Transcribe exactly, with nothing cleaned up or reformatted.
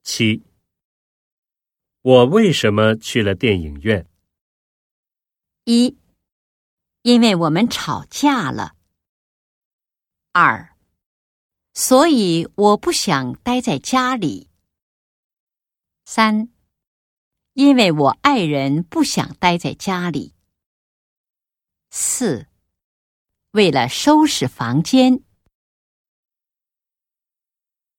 七，我为什么去了电影院？ 一，因为我们吵架了。二，所以我不想待在家里。三，因为我爱人不想待在家里。四，为了收拾房间。